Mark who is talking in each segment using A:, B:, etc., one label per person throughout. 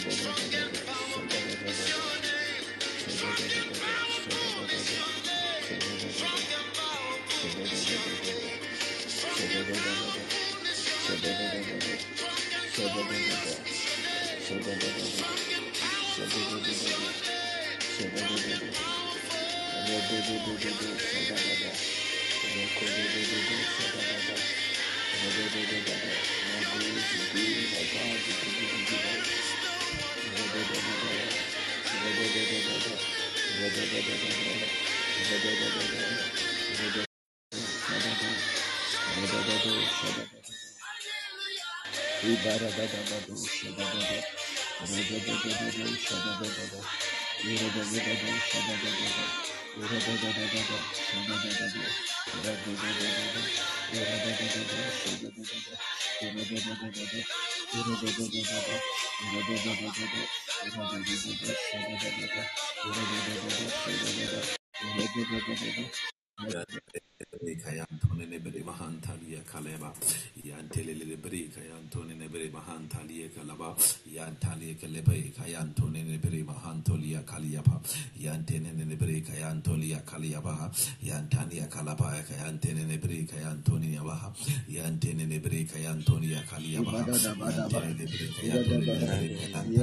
A: Kayantone nebere mahantalia kaleba yantele lebere kayantone nebere mahantalia kalaba yantale kelebe kayantone nebere mahantolia kaliaba yantene nebere kayantolia kaliaba yantania kalaba kayantene nebere kayantone yabaha yantene nebere kayantonia kaliaba yantene nebere kayantone nebere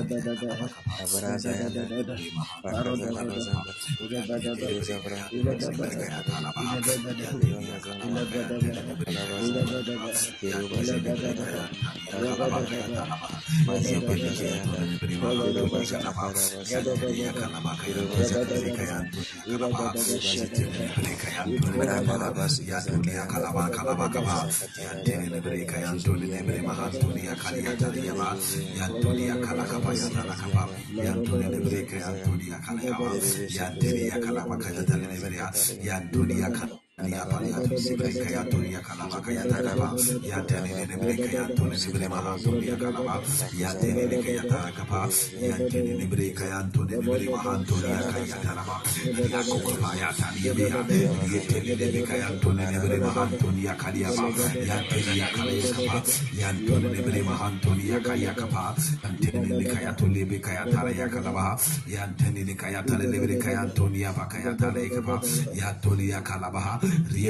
A: Nia paliato sika kayatoria kalaba kayataraba yantene nebre kayantone nebre mahantoria kalaba yantene kayatara kapa yantene nebre kayantone nebre mahantoria kayataraba yakokaba yatani bia yetene nebre kayantone nebre mahantoria kaliaba yantene yakale kapa yantone nebre mahantoria kayakapa yantene kayatole be kayatara yakalaba yantene kayatale nebre kayantonia bakayatale kapa yantonia kalaba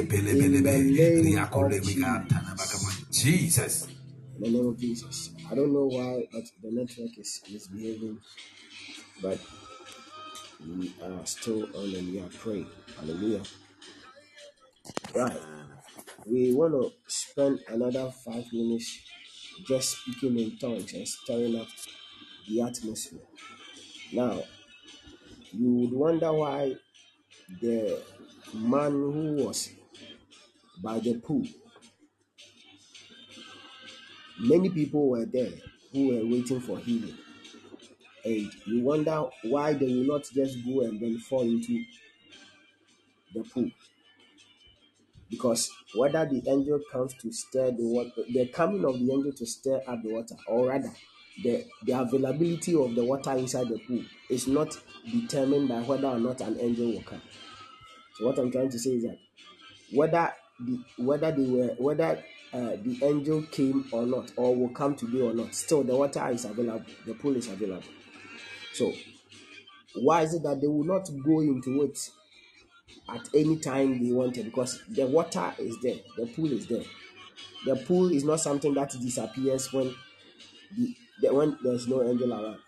A: Jesus.
B: In the name of Jesus. I don't know why, but the network is misbehaving, but we are still on and we are praying. Hallelujah. Right. We want to spend another 5 minutes just speaking in tongues and stirring up the atmosphere. Now, you would wonder why the man who was by the pool, many people were there who were waiting for healing. And you wonder why they will not just go and then fall into the pool. Because whether the angel comes to stir the water, the coming of the angel to stir up the water, or rather, the availability of the water inside the pool is not determined by whether or not an angel will come. So what I'm trying to say is that whether the angel came or not, or will come today or not, still the water is available, the pool is available. So why is it that they will not go into it at any time they wanted? Because the water is there, the pool is there. The pool is not something that disappears when when there's no angel around.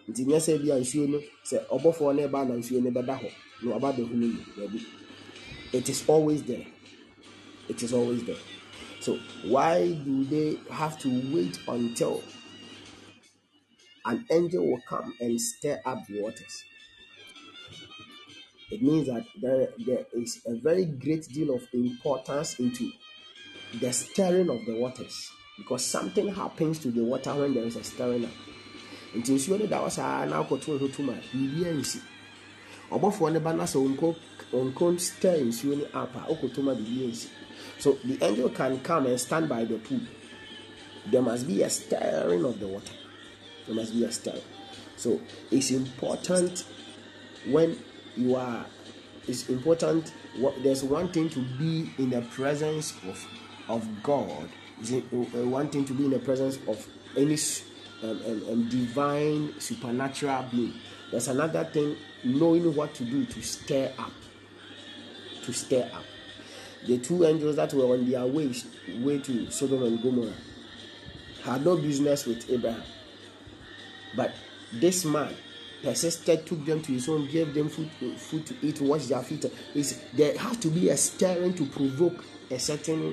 B: It is always there. It is always there. So why do they have to wait until an angel will come and stir up the waters? It means that there is a very great deal of importance into the stirring of the waters, because something happens to the water when there is a stirring up. Until you know that was now control too much. So the angel can come and stand by the pool. There must be a stirring of the water. There must be a stirring. So it's important when you are. It's important. There's one thing to be in the presence of God. Is one thing to be in the presence of any divine supernatural being. There's another thing, knowing what to do to stir up. To stir up. The two angels that were on their way to Sodom and Gomorrah had no business with Abraham. But this man persisted, took them to his home, gave them food to eat, washed their feet. There has to be a stirring to provoke a certain,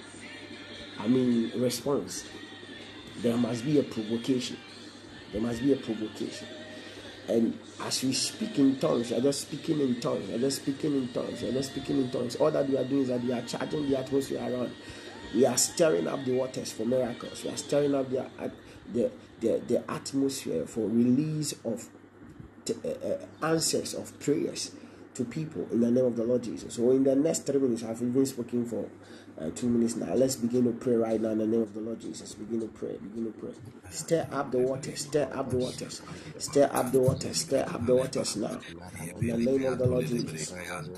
B: response. There must be a provocation. There must be a provocation. And as we speak in tongues, you're just speaking in tongues, you're just speaking in tongues, you're just speaking in tongues. All that we are doing is that we are charging the atmosphere around. We are stirring up the waters for miracles. We are stirring up the atmosphere for release of answers of prayers to people in the name of the Lord Jesus. So in the next 3 minutes, I've even spoken for 2 minutes now. Let's begin to pray right now in the name of the Lord Jesus. Begin to pray. Begin to pray. Stir up the waters. Stir up the waters. Stir up the waters. Stir up the waters now. In the name of the Lord Jesus.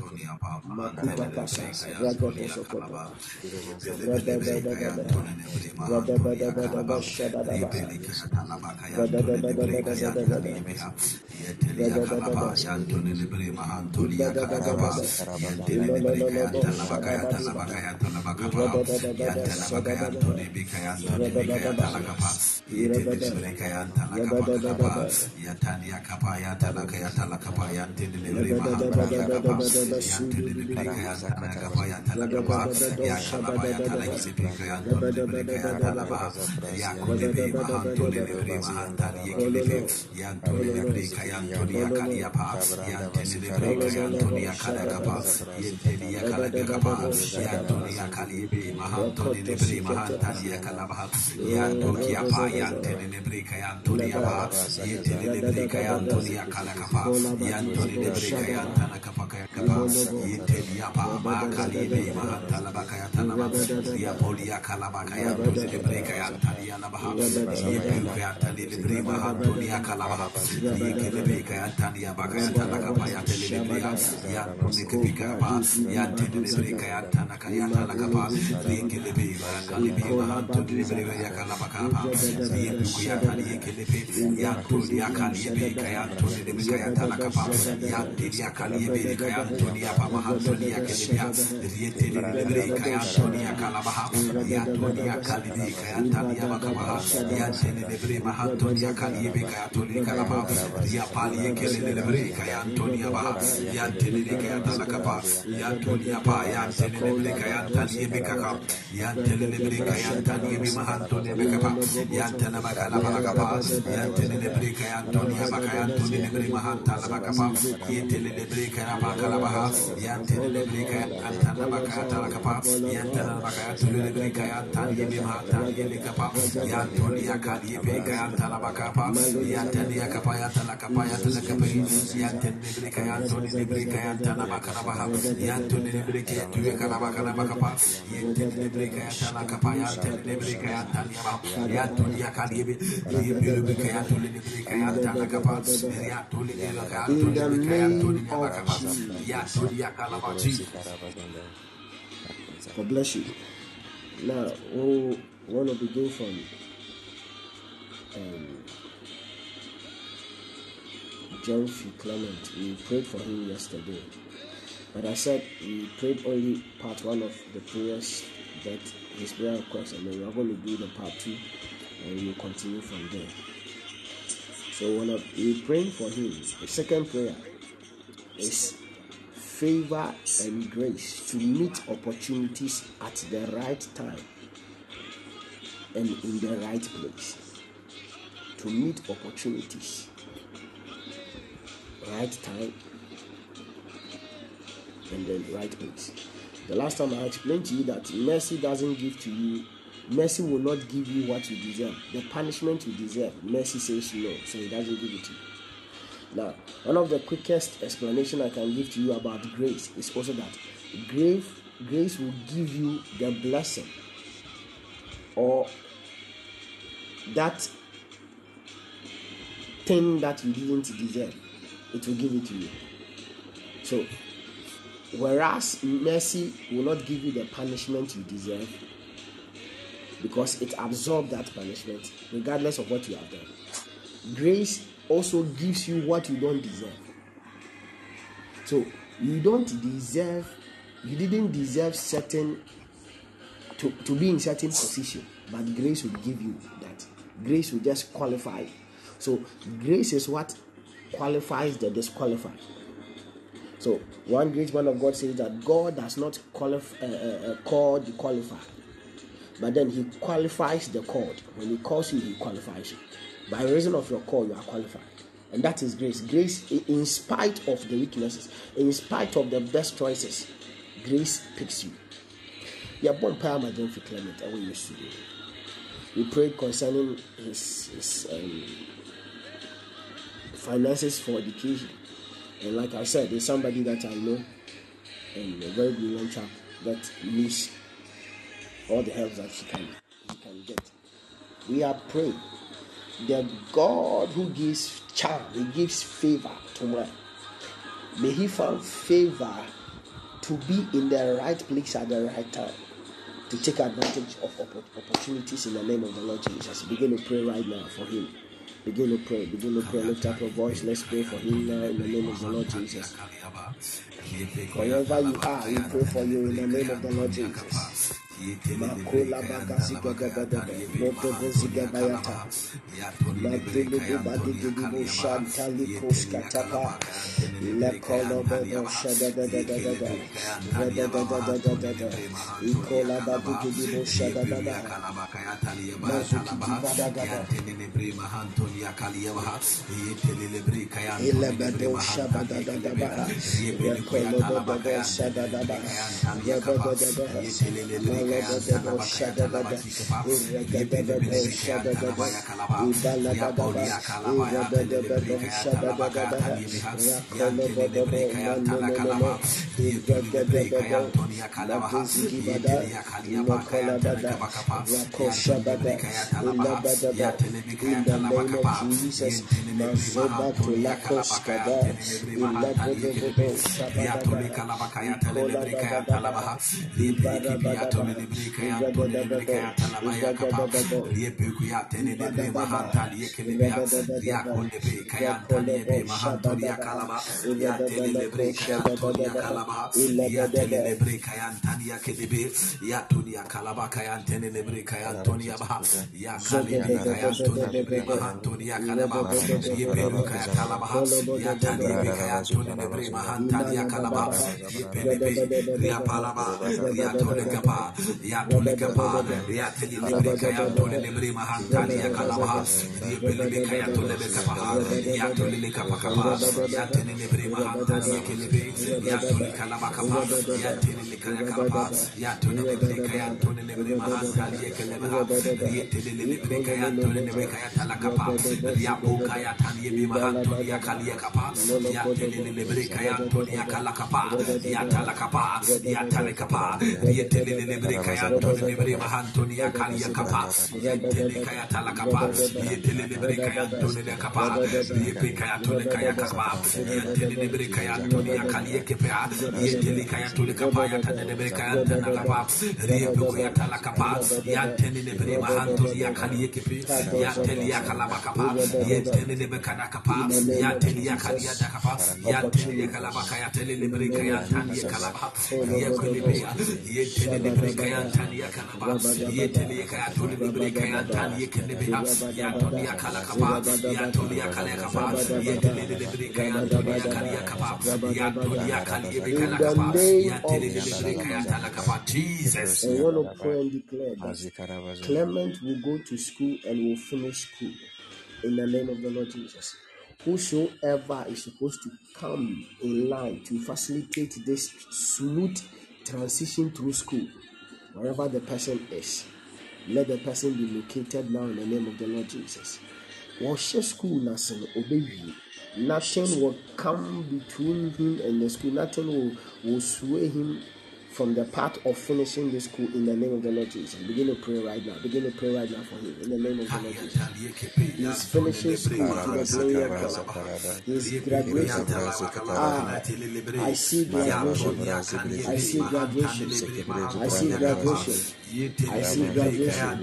B: God bless you. Now, we want to begin from John F. Clement. We prayed for him yesterday, but I said we prayed only part 1 of the prayers, that his prayer request, and then we are going to do the part 2, and we will continue from there. So when we praying for him, the second prayer is favor and grace to meet opportunities at the right time and in the right place. To meet opportunities, right time and the right place. The last time I explained to you that mercy doesn't give to you, mercy will not give you what you deserve. The punishment you deserve, mercy says no, so it doesn't give it to you. Now, one of the quickest explanation I can give to you about grace is also that grace will give you the blessing, or that thing that you didn't deserve. It will give it to you. So, whereas mercy will not give you the punishment you deserve, because it absorbs that punishment regardless of what you have done. Grace also gives you what you don't deserve. So you didn't deserve certain to be in certain position, but grace will give you that. Grace will just qualify. So grace is what qualifies the disqualified. So one great man of God says that God does not call the qualified, but then he qualifies the called. When he calls you, he qualifies you. By reason of your call, you are qualified. And that is grace. Grace, in spite of the weaknesses, in spite of the best choices, grace picks you. You are born Paramadan for Clement, and we used to do. We prayed concerning his finances for education. And like I said, there's somebody that I know, and a very brilliant chap that needs all the help that he can get. We are praying. The God who gives charm, he gives favor to man. May he find favor to be in the right place at the right time, to take advantage of opportunities in the name of the Lord Jesus. Begin to pray right now for him. Begin to pray. Lift up your voice. Let's pray for him now in the name of the Lord Jesus. Wherever you are, we pray for you in the name of the Lord Jesus. Makola bagasiga gabada, noto boziga bayata, madulu bubadi gibu shantali koskatapa, lekolo bodo shada da da da da da, rada da da da da da da, ikola badi gibu shada da da, mazuki bada gada, ilebado shaba da da da da, lekolo bodo shada da da, rada da da da. Jesus. I want to pray and declare that Clement will go to school and will finish school in the name of the Lord Jesus. Whosoever is supposed to come in line to facilitate this smooth transition through school, wherever the person is, let the person be located now in the name of the Lord Jesus. Wash school nothing obey. Nothing will come between him and the school. Nothing will sway him from the part of finishing this school in the name of the Lord Jesus. Begin to pray right now. Begin to pray right now for him in the name of the Lord Jesus. He's finishing school to the glory of God. He's graduation. I see graduation. I see graduation. I see graduation. I see graduation.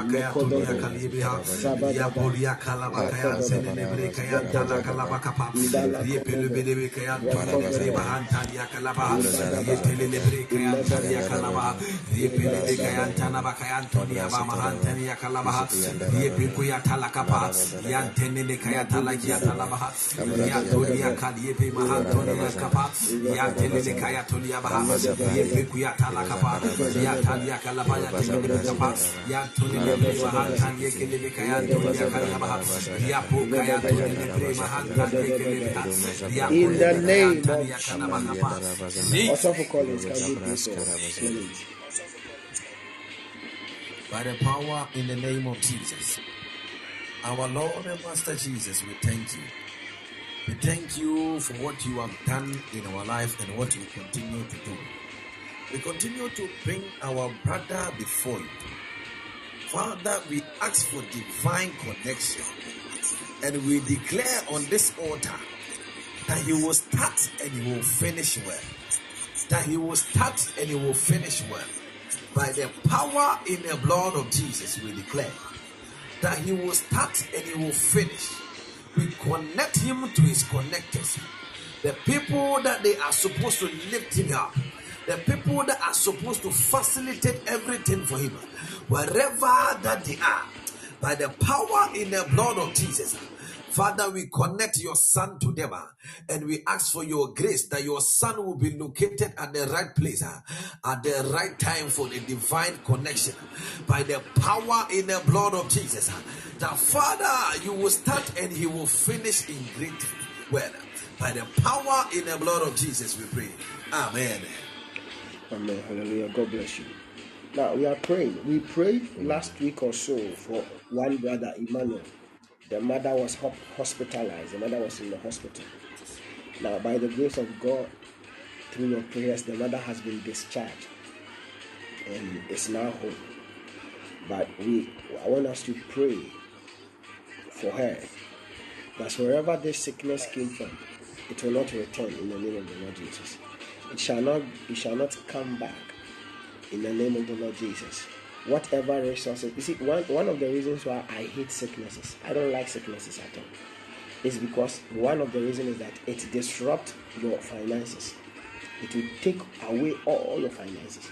B: In the name of Jesus. Also for Collins, can you please?
A: By the power in the name of Jesus, our Lord and Master Jesus, we thank you. We thank you for what you have done in our life and what you continue to do. We continue to bring our brother before you. Father, we ask for divine connection, and we declare on this altar that he will start and he will finish well. That he will start and he will finish well. By the power in the blood of Jesus, we declare that he will start and he will finish. We connect him to his connectors, the people that they are supposed to lift him up, the people that are supposed to facilitate everything for him, wherever that they are. By the power in the blood of Jesus, Father, we connect your son to them, and we ask for your grace that your son will be located at the right place, at the right time for the divine connection. By the power in the blood of Jesus, that Father, you will start and he will finish in great well. By the power in the blood of Jesus, we pray. Amen.
B: Amen. Hallelujah. God bless you. Now we are praying. We prayed last week or so for one brother, Emmanuel. The mother was hospitalized. The mother was in the hospital. Now, by the grace of God, through your prayers, the mother has been discharged and is now home. But I want us to pray for her, that wherever this sickness came from, it will not return in the name of the Lord Jesus. It shall not come back in the name of the Lord Jesus. Whatever resources, you see, one of the reasons why I hate sicknesses, I don't like sicknesses at all, is because one of the reasons is that it disrupts your finances. It will take away all your finances.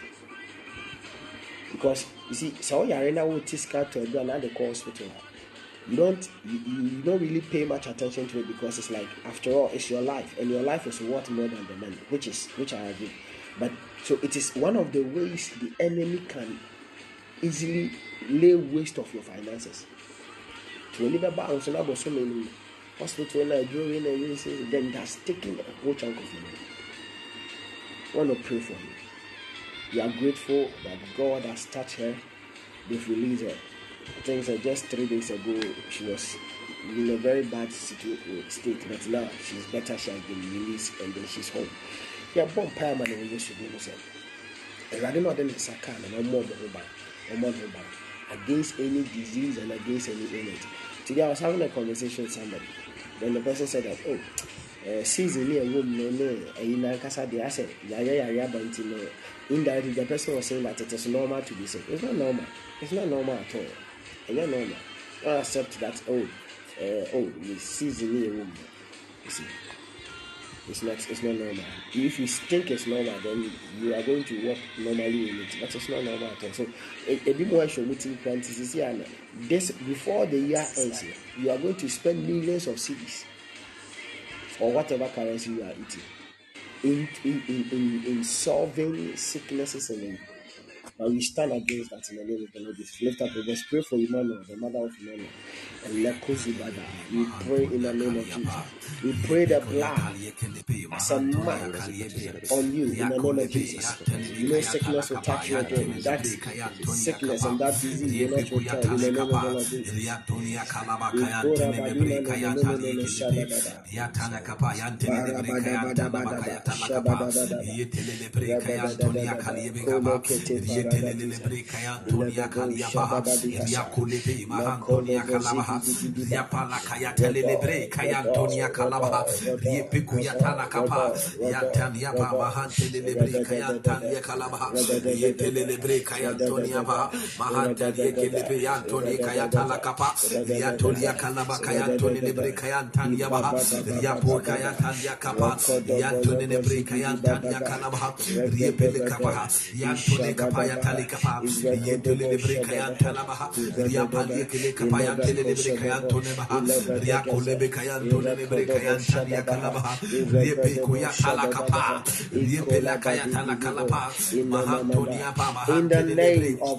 B: Because you see, so you're in a to another hospital. You don't really pay much attention to it because it's like, after all, it's your life, and your life is worth more than the money, which I agree. But so it is one of the ways the enemy can easily lay waste of your finances. To live about so many hospital then that's taking a whole chunk of your money. I want to pray for you. We are grateful that God has touched her. They've released her. I think just 3 days ago she was in a very bad state, but now she's better. She has been released and then she's home. Yeah, bomb paramount when you should be rather not than the and more against any disease and against any illness. Today I was having a conversation with somebody. Then the person said that, season near room I said, indirectly the person was saying that it is normal to be sick. It's not normal. It's not normal at all. It's not normal. Don't accept that, season near room. You see. It's not normal. If you think it's normal, then you are going to work normally in it. But it's not normal at all. So a bit more show meeting practices here. This before the year ends, you are going to spend millions of cedis or whatever currency you are eating in solving sicknesses and But we stand against that in the name of the Lord Jesus. Lift up your voice. Pray for Emmanuel, the mother of Emmanuel. And Lekozubada. We pray in the name of Jesus. We pray the blood as a mark on you in the name of Jesus. You know sickness will touch you again. That sickness and that disease will not return in the name of the Lord Jesus. In the name of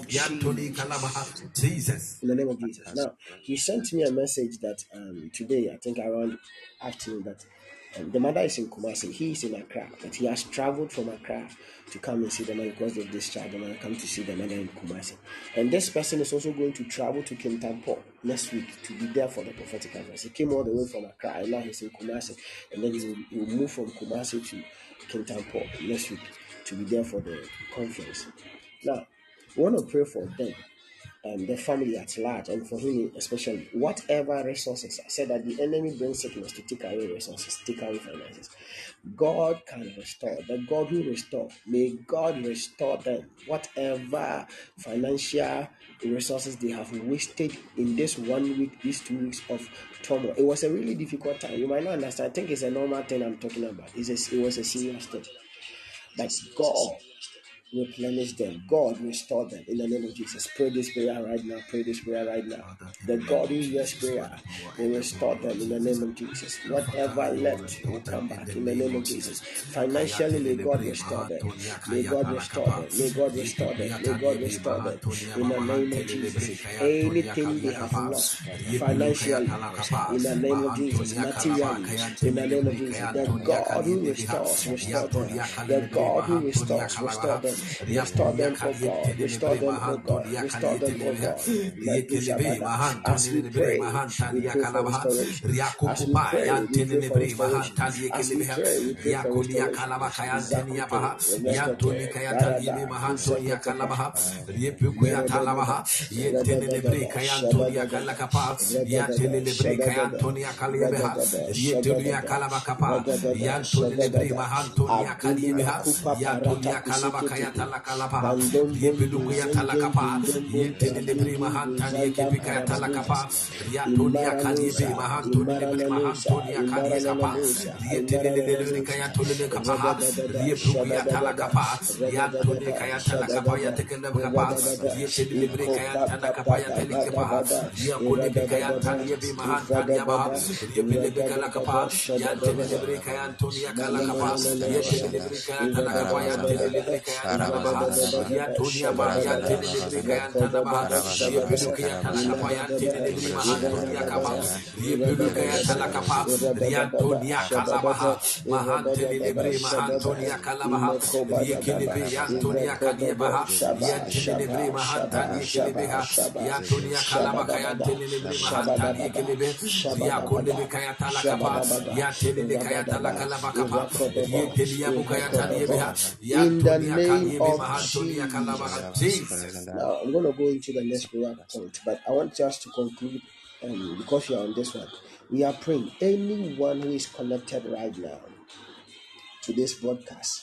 B: Jesus. In the name of Jesus. Now, he sent me a message that today, I think around afternoon, that the mother is in Kumasi. He is in Accra, but he has traveled from Accra to come and see the mother because of this child. The mother come to see the mother in Kumasi. And this person is also going to travel to Kintampo next week to be there for the prophetic conference. He came all the way from Accra and now he's in Kumasi. And then he will move from Kumasi to Kintampo next week to be there for the conference. Now, we want to pray for them. The family at large, and for him especially, whatever resources. I said that the enemy brings sickness to take away resources, take away finances. God can restore. The God who restores, may God restore them. Whatever financial resources they have wasted in this 1 week, these 2 weeks of turmoil. It was a really difficult time. You might not understand. I think it's a normal thing I'm talking about. It was a serious thing. But God replenish them. God restore them in the name of Jesus. Pray this prayer right now. Pray this prayer right now. The God who hears prayer will restore them in the name of Jesus. Whatever left will come back in the name of Jesus. Financially, may God restore them. May God restore them. May God restore them. May God restore them in the name of Jesus. Anything they have lost financially, in the name of Jesus. Materially, in the name of Jesus. The God who restores, restore them. The God who restores, restore them. Restore them, oh God. Restore them, oh God. Restore them, oh God. As we pray, we pray for restoration. As we pray, we pray for restoration. As we pray, we pray for restoration. In the name of Jesus. Now I'm going to go into the next prayer point, but I want us to conclude because you are on this one. We are praying anyone who is connected right now to this broadcast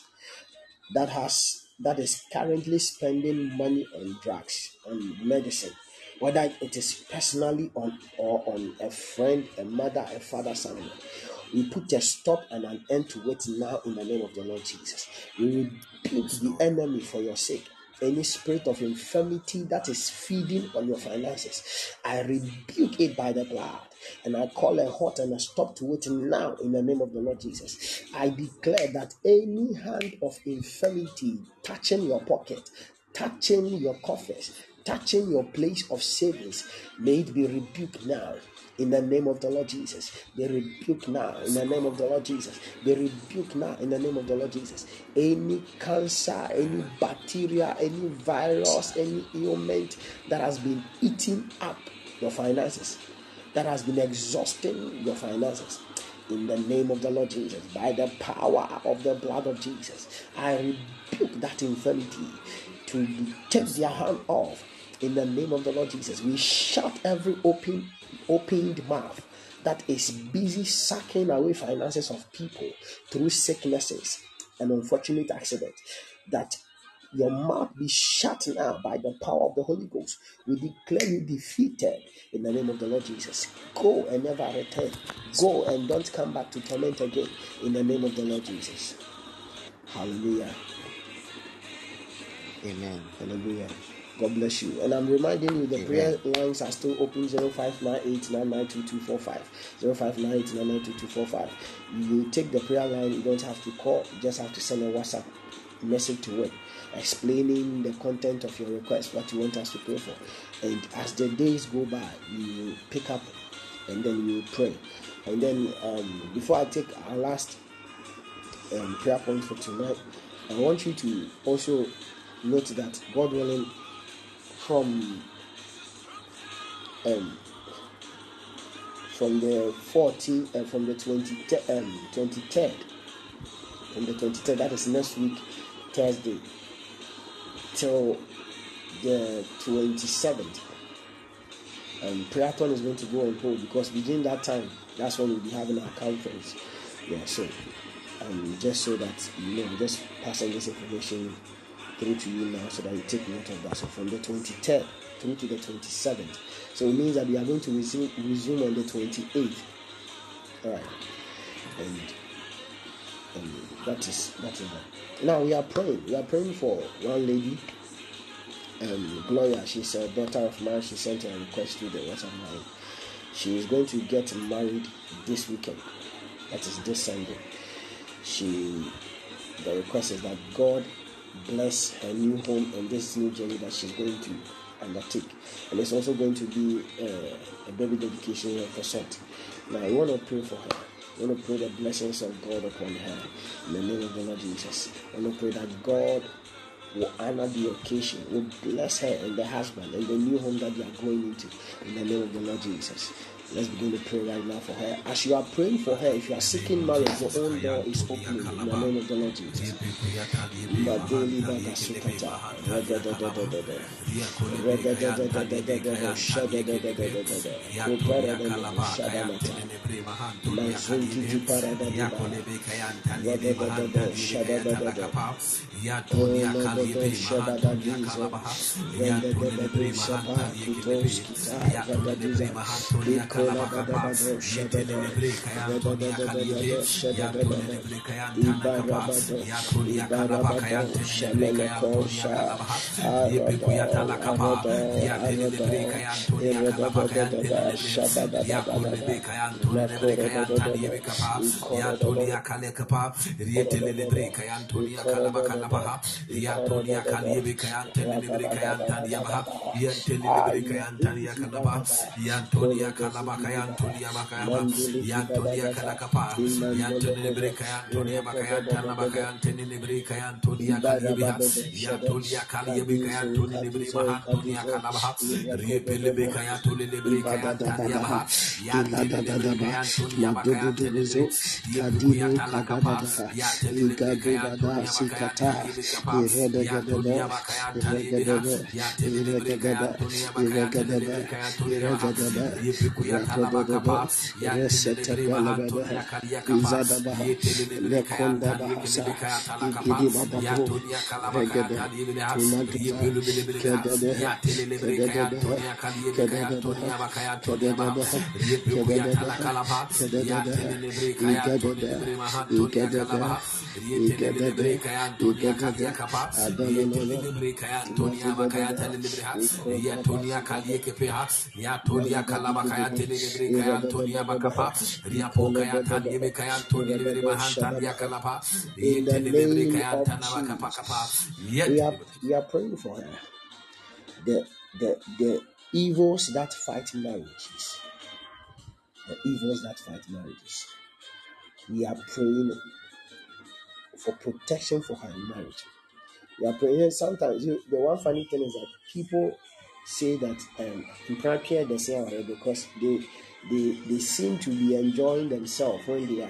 B: that is currently spending money on drugs, on medicine, whether it is personally or on a friend, a mother, a father, someone. We put a stop and an end to it now in the name of the Lord Jesus. We rebuke the enemy for your sake. Any spirit of infirmity that is feeding on your finances, I rebuke it by the blood. And I call a halt and a stop to it now in the name of the Lord Jesus. I declare that any hand of infirmity touching your pocket, touching your coffers, touching your place of savings, may it be rebuked now. In the name of the Lord Jesus, be rebuked now. In the name of the Lord Jesus, be rebuked now. In the name of the Lord Jesus, any cancer, any bacteria, any virus, any ailment that has been eating up your finances, that has been exhausting your finances, in the name of the Lord Jesus, by the power of the blood of Jesus, I rebuke that infirmity to take their hand off. In the name of the Lord Jesus, we shut every opened mouth that is busy sucking away finances of people through sicknesses and unfortunate accidents. That your mouth be shut now by the power of the Holy Ghost. We declare you defeated in the name of the Lord Jesus. Go and never return. Go and don't come back to torment again in the name of the Lord Jesus. Hallelujah.
C: Amen.
B: Hallelujah. God bless you. And I'm reminding you, the prayer lines are still open. 0598992245. 0598992245. You take the prayer line. You don't have to call. You just have to send a WhatsApp message to it, explaining the content of your request, what you want us to pray for. And as the days go by, you pick up and then you pray. And then before I take our last prayer point for tonight, I want you to also note that, God willing, from the 14th, from the 23rd, that is next week, Thursday, till the 27th, Prayathon is going to go on hold, because within that time, that's when we'll be having our conference. Yeah, so just so that you know, just passing this information through to you now so that you take note of that. So from the 23rd through to the 27th. So it means that we are going to resume on the 28th. All right. And that is that. Now we are praying. We are praying for one lady, Gloria. She's a daughter of mine. She sent a request to the WhatsApp line. She is going to get married this weekend. That is this Sunday. The request is that God bless her new home and this new journey that she's going to undertake. And it's also going to be a baby dedication of a sort. Now, I want to pray for her. I want to pray the blessings of God upon her in the name of the Lord Jesus. I want to pray that God will honor the occasion, will bless her and the husband and the new home that they are going into in the name of the Lord Jesus. Let's begin to pray right now for her. As you are praying for her, if you are seeking marriage, your own door is opening in the name of the Lord Jesus.
A: Yantonia Bakayama, Yantonia Kalakapa, Yantonia Breka, Antonia Bakayantana Bakayantini Breka, Antonia Kalibiha, Yantonia Kalibika, Antoni Brima, Antonia Kalabaha, Riepelebeka, Antoni Breka, Antania Baha, Yantonia Antonia Bakayantini, Yabuya Kalakapa, Yantonia Bakayantani Bikapa, Yantonia Bakayantani, Yantonia Breka, Antonia Bakayantani Breka, Antonia Yepikuya Talabakapa, Yantelebri Mahantonia Kaliakapa, Yetelebri Kayantan, Yekelebika Talakapa, Yantonia Kalabaka, Yepelubelebeka, Yatelebri Kayantonia Kaliebika, Antonia Bakayantonia, Yepikuya Talakala. kalaba, Yatelebre Kaya Tolibre Mahantonia Kalaba, Yetelebre Kaya Antonia Kalia Kapa, Yetelebre Kaya Antonia Makaya Telebreha, Yatonia Kalia Kepeha, Yatolia Kalaba Kaya Telebre Kaya Antonia Bakapa, Riapo Kaya Tania Kaya Antonia Lebre Mahantania Kalapa, Yetelebre Kaya Antana Bakapa Kapa,
B: we are praying for her. The evils that fight marriages. The evils that fight marriages. We are praying for protection for her in marriage. We are praying. Sometimes the one funny thing is that people say that you can't care the same because they seem to be enjoying themselves when they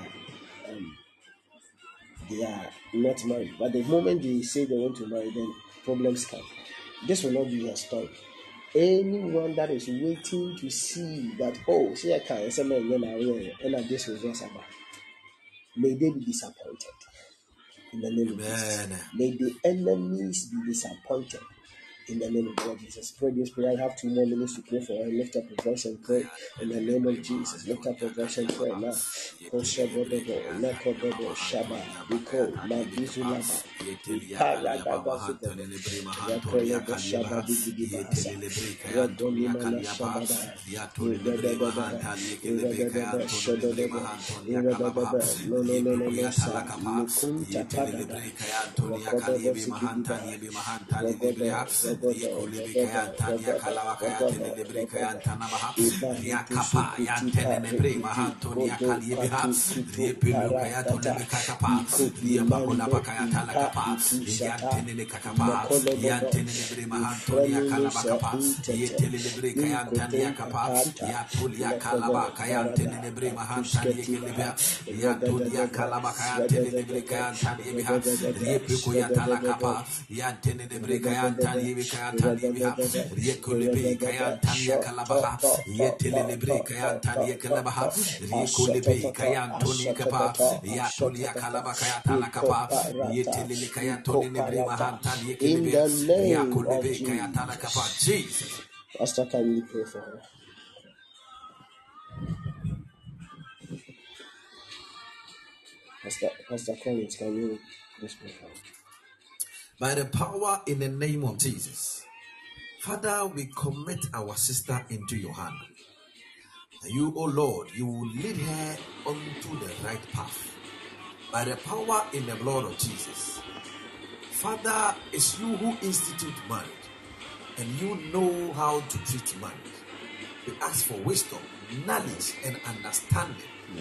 B: are not married. But the moment they say they want to marry, then problems come. This will not be your story. Anyone that is waiting to see that, oh, see, I can't say my and this will just about. May they be disappointed. In the name of Jesus. May the enemies be disappointed. In the name of God, Jesus. Pray this prayer. I have 2 more minutes to pray for her. Lift up your voice and pray. In the name of Jesus. Lift up your voice and pray now. Shaba, Biko, Madizulaba, Paradagazube, Yakolo Shaba, Digibasa, Radonimana Shabada, in the name of Jesus. Pastor, can you pray for her? Pastor Collins, can you please pray for her?
A: By the power in the name of Jesus, Father, we commit our sister into your hand. You, O Lord, you will lead her onto the right path. By the power in the blood of Jesus. Father, it's you who institute marriage, and you know how to treat marriage. We ask for wisdom, knowledge, and understanding.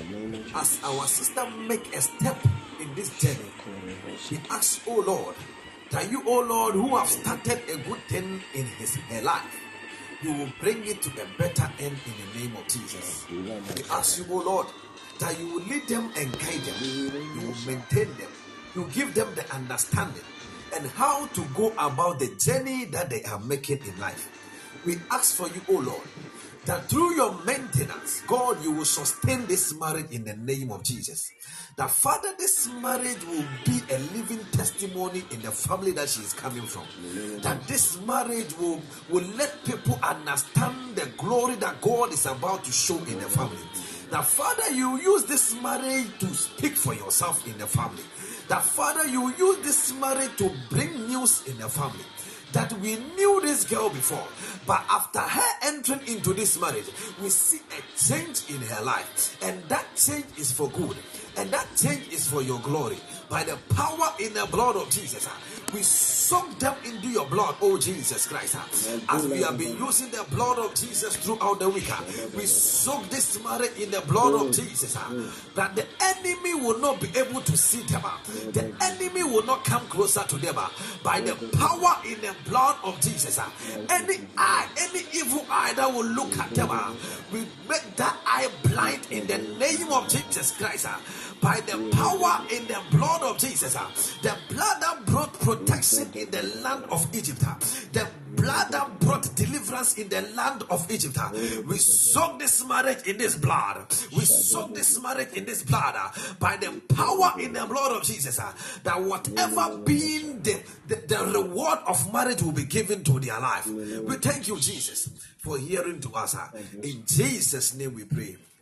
A: As our sister make a step in this journey, we ask, O Lord, that you, O Lord, who have started a good thing in her life, you will bring it to a better end in the name of Jesus. We ask you, O Lord, that you will lead them and guide them. You will maintain them. You give them the understanding and how to go about the journey that they are making in life. We ask for you, O Lord, that through your maintenance, God, you will sustain this marriage in the name of Jesus. That, Father, this marriage will be a living testimony in the family that she is coming from. That this marriage will let people understand the glory that God is about to show in the family. That, Father, you use this marriage to speak for yourself in the family. That, Father, you use this marriage to bring news in the family. That we knew this girl before, but after her entering into this marriage, we see a change in her life, and that change is for good, and that change is for your glory. By the power in the blood of Jesus, we soak them into your blood, oh Jesus Christ. As we have been using the blood of Jesus throughout the week, we soak this marriage in the blood of Jesus, that the enemy will not be able to see them. The enemy will not come closer to them. By the power in the blood of Jesus, any evil eye that will look at them, we make that eye blind in the name of Jesus Christ. By the power in the blood of Jesus, the blood that brought protection in the land of Egypt, the blood that brought deliverance in the land of Egypt, we soak this marriage in this blood. We soak this marriage in this blood. By the power in the blood of Jesus, that whatever being the reward of marriage will be given to their life. We thank you, Jesus, for hearing to us. In Jesus' name we pray.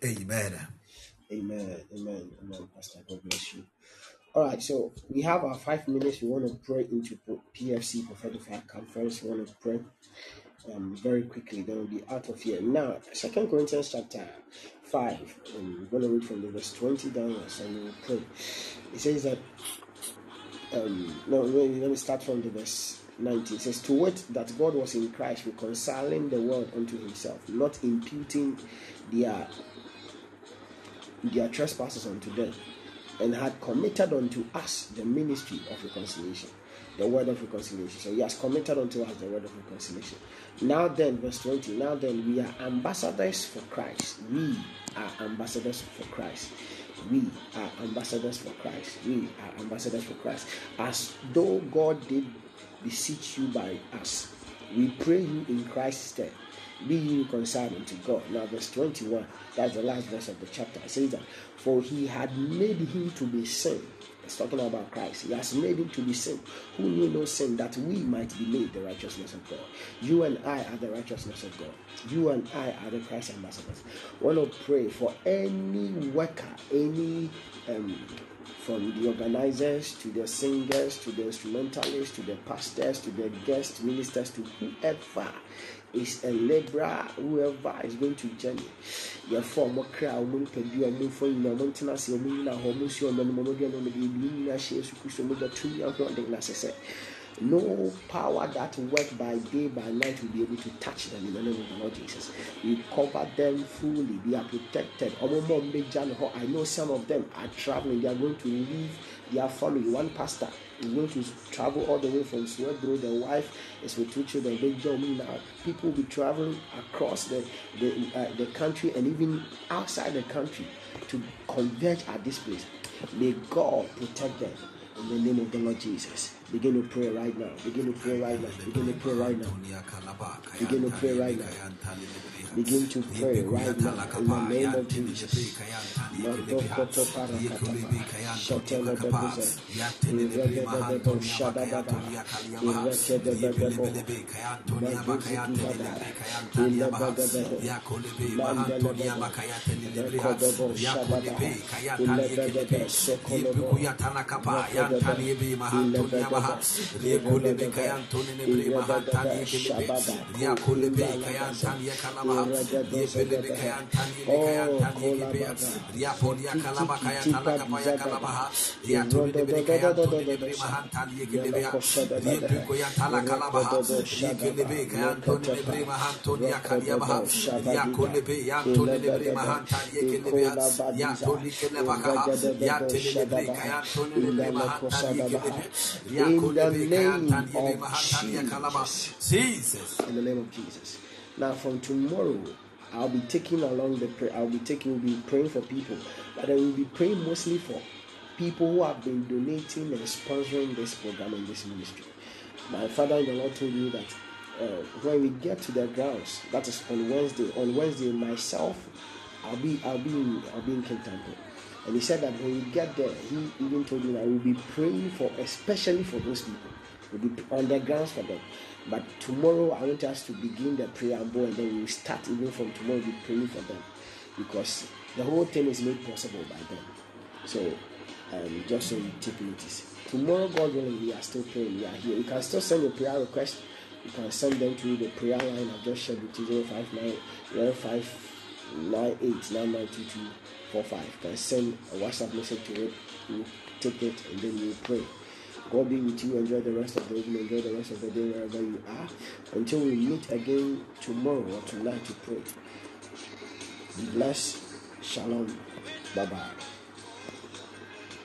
A: Amen.
B: Amen. Amen. Amen. Pastor, God bless you. All right, so we have our 5 minutes. We want to pray into PFC Prophetic Fire Conference. We want to pray very quickly. Then we'll be out of here. Now, 2 Corinthians chapter 5. We're going to read from the verse 20 downwards and we'll pray. It says that, let me start from the verse 19. It says, to wit, that God was in Christ reconciling the world unto himself, not imputing their trespasses unto them, and had committed unto us the ministry of reconciliation, the word of reconciliation. So he has committed unto us the word of reconciliation. Now then, verse 20, now then we are ambassadors for Christ. We are ambassadors for Christ. We are ambassadors for Christ. We are ambassadors for Christ. As though God did beseech you by us, we pray you in Christ's stead, be ye reconciled unto God. Now verse 21, that's the last verse of the chapter. It says that, for he had made him to be sin. It's talking about Christ. He has made him to be sin, who knew no sin, that we might be made the righteousness of God. You and I are the righteousness of God. You and I are the Christ ambassadors. I want to pray for any worker, any from the organizers to the singers to the instrumentalists to the pastors to the guest ministers to whoever is a laborer, whoever is going to journey. Therefore, no power that work by day by night will be able to touch them in the name of the Lord Jesus. We cover them fully. They are protected. I know some of them are traveling. They are going to leave their family. One pastor is going to travel all the way from Swedbro. The wife is with 2 children. People will be traveling across the country and even outside the country to converge at this place. May God protect them in the name of the Lord Jesus. Begin to pray right now. Begin to pray right now. Begin to pray right now. Begin to pray right now. Begin to pray right now in the name of Jesus. Jesus. In the name of Jesus. Now from tomorrow, I'll be taking along the prayer. We'll be praying for people, but I will be praying mostly for people who have been donating and sponsoring this program and this ministry. My father in the Lord told me that when we get to the grounds, that is on Wednesday. On Wednesday, myself, I'll be in Kentucky. And he said that when we get there, he even told me that we'll be praying for, especially for those people. We'll be on the grounds for them. But tomorrow, I want us to begin the preamble, and then we'll start even from tomorrow. We'll be praying for them, because the whole thing is made possible by them. So, just so you take notice. Tomorrow, God willing, we are still praying. We are here. You can still send your prayer request. You can send them to the prayer line I've just shared with you, 059-0598-992245. You can send a WhatsApp message to it. You take it, and then you pray. God be with you. Enjoy the rest of the evening. Enjoy the rest of the day wherever you are. Until we meet again tomorrow or tonight to pray. Be blessed. Shalom. Bye-bye.